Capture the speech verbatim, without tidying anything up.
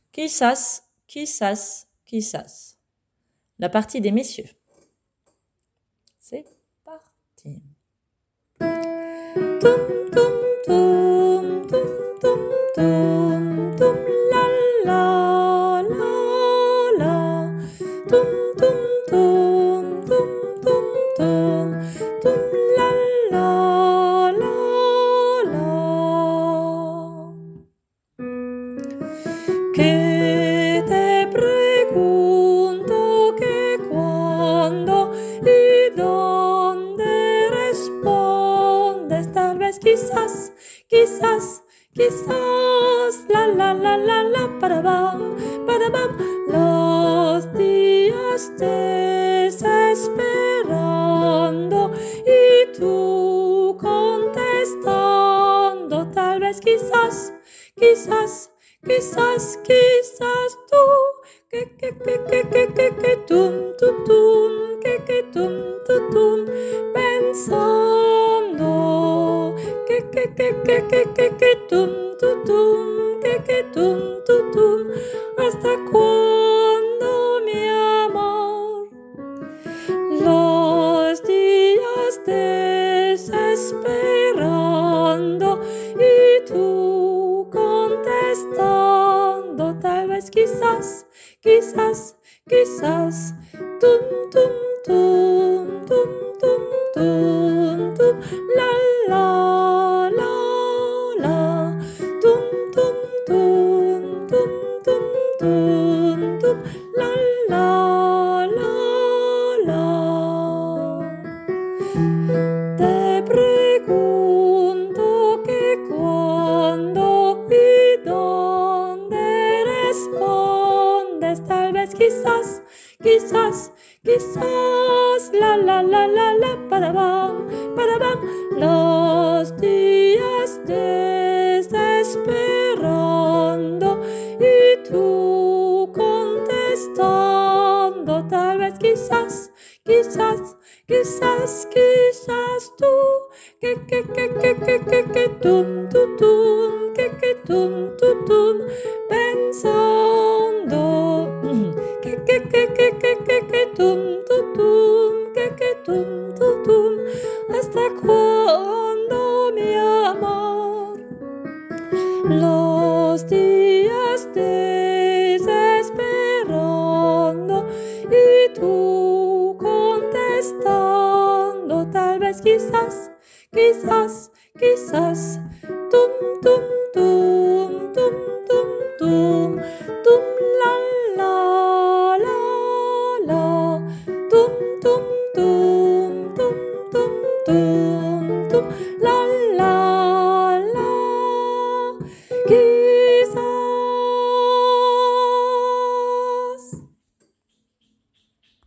Quizás, quizás, quizás. La partie des messieurs. C'est parti. Toum, toum, toum, toum, toum, toum, toum, la, la, la, la. Toum, toum, toum, toum, toum, toum, toum, la, la, la, la. Que te pregunto que cuando y dónde respondes, tal vez quizás, quizás, quizás, la la la la la, para bam, para bam, los días desesperando y tú contestando, tal vez quizás, quizás, quizás, quizás tú, que, que, que, que, que, que, que, tum, tum, tum, que, que, tum, tum, tum, pensando, que, que, que, que, que, que, que, tum, tum, tum, que, que, tum, tum, tum, ¿hasta cuándo, mi amor? Los días desesperando y tú contestando, tal vez quizás, quizás, quizás, tum, tum, tum, tum, tum, tum, tum, la, la, la, la, tum, tum, tum, tum, tum, tum, tum, la, la, la, la. Te pregunto que cuándo y dónde respondes, tal vez quizás, quizás, quizás, la la la la la, para bam, para bam, los días desesperando y tú contestando, tal vez quizás, quizás, quizás, quizás tú, que, que, que, que, que, que, que, tum, tum, tum, que, que, tum, tum, tum, pensando, que, que, que, que, que, que, que, tum, tum, tum, que, que, tum, tum, tum, ¿hasta cuándo, mi amor? Los días desesperando y tú contestando, tal vez quizás, quizás, quizás, tum, tum, tum, tum, tum, tum, tum, la, la, la, la, tum, tum, tum, tum, tum, tum, tum, la, la.